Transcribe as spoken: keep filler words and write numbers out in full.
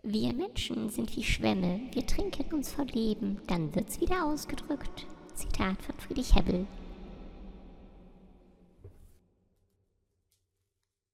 Wir Menschen sind wie Schwämme, wir trinken uns vor Leben, dann wird's wieder ausgedrückt. Zitat von Friedrich Hebbel.